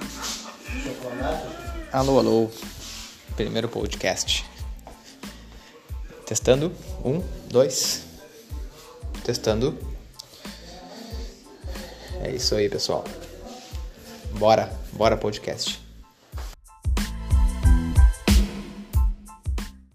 Alô, alô. Primeiro podcast. Testando. 1, 2. Testando. É isso aí, pessoal. Bora podcast.